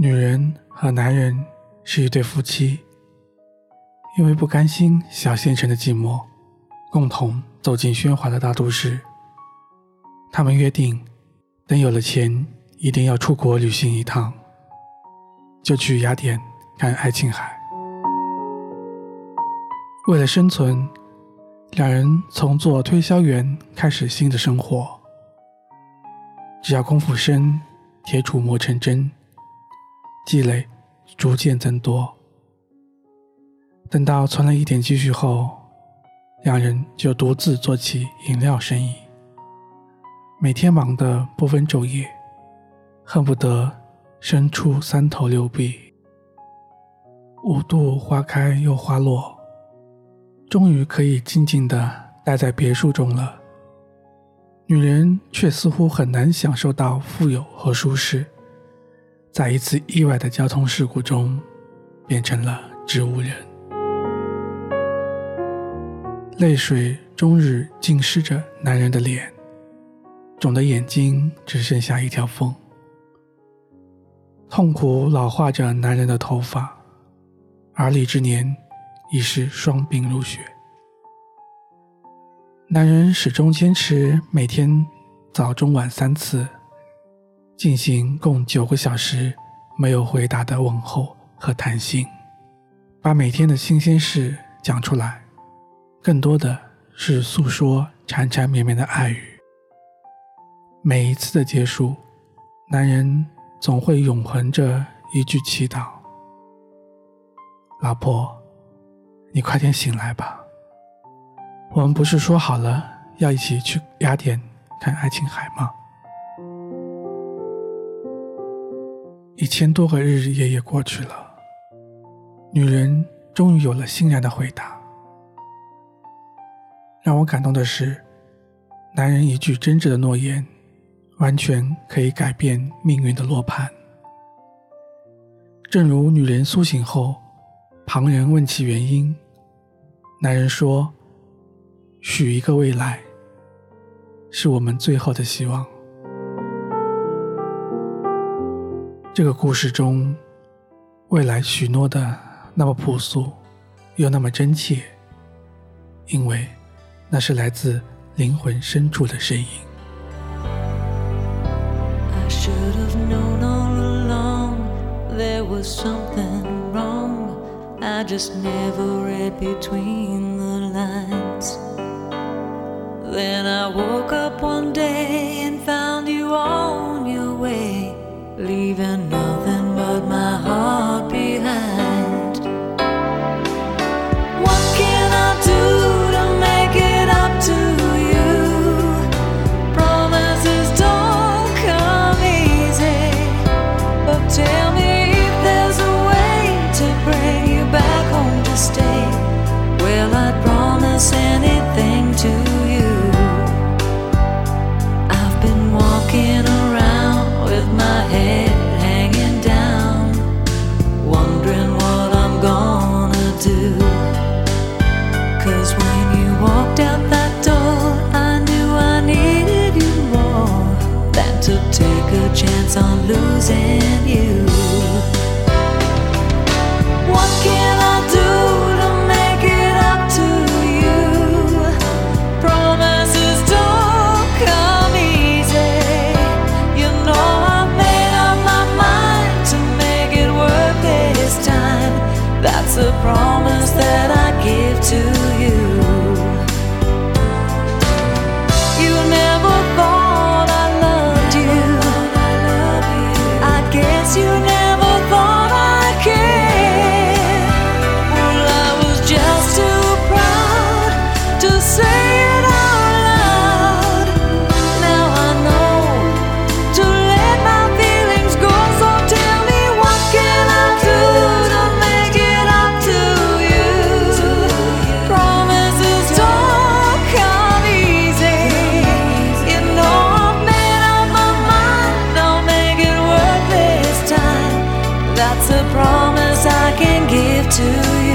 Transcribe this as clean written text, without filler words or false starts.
女人和男人是一对夫妻，因为不甘心小县城的寂寞，共同走进喧哗的大都市。他们约定，等有了钱，一定要出国旅行一趟，就去雅典看爱琴海。为了生存，两人从做推销员开始新的生活。只要功夫深，铁杵磨成针，积累逐渐增多。等到存了一点积蓄后，两人就独自做起饮料生意，每天忙得不分昼夜，恨不得生出三头六臂。5度花开又花落，终于可以静静地待在别墅中了。女人却似乎很难享受到富有和舒适，在一次意外的交通事故中变成了植物人。泪水终日浸湿着男人的脸，肿的眼睛只剩下一条缝。痛苦老化着男人的头发，而立之年已是双鬓如雪。男人始终坚持每天早中晚3次，进行共9个小时没有回答的问候和谈心，把每天的新鲜事讲出来，更多的是诉说缠缠绵绵的爱语。每一次的结束，男人总会永恒着一句祈祷：老婆，你快点醒来吧，我们不是说好了要一起去雅典看爱琴海吗？1000多个日日夜夜过去了，女人终于有了欣然的回答。让我感动的是，男人一句真挚的诺言，完全可以改变命运的落盘。正如女人苏醒后，旁人问其原因，男人说：许一个未来，是我们最后的希望。这个故事中，未来许诺的那么朴素，又那么真切，因为那是来自灵魂深处的声音。 I should have known all along there was something wrong. I just never read between the lines. Then I woke up one day and found you on your way, leaving nothing but my heart behind. What can I do to make it up to you? Promises don't come easy, but tell me if there's a way to bring you back home to stay. Well, I'd promise anything to you. I've been walking around with my head hanging down, wondering what I'm gonna do. 'Cause when you walked out that door, I knew I needed you more than to take a chance on losing you. What can I do to make it up to you? Promises don't come easy. You know I've made up my mind to make it worth this time. That's a promise that I give to you. You never thought I loved you. I guess you never thought I cared. Well, I was just too proud to say it out loud. Now I know to let my feelings go. So tell me, what can I do to make it up to you? Promises don't come easy. You know I've made up my mind, I'll make it worth this time. That's a promise I can give to you.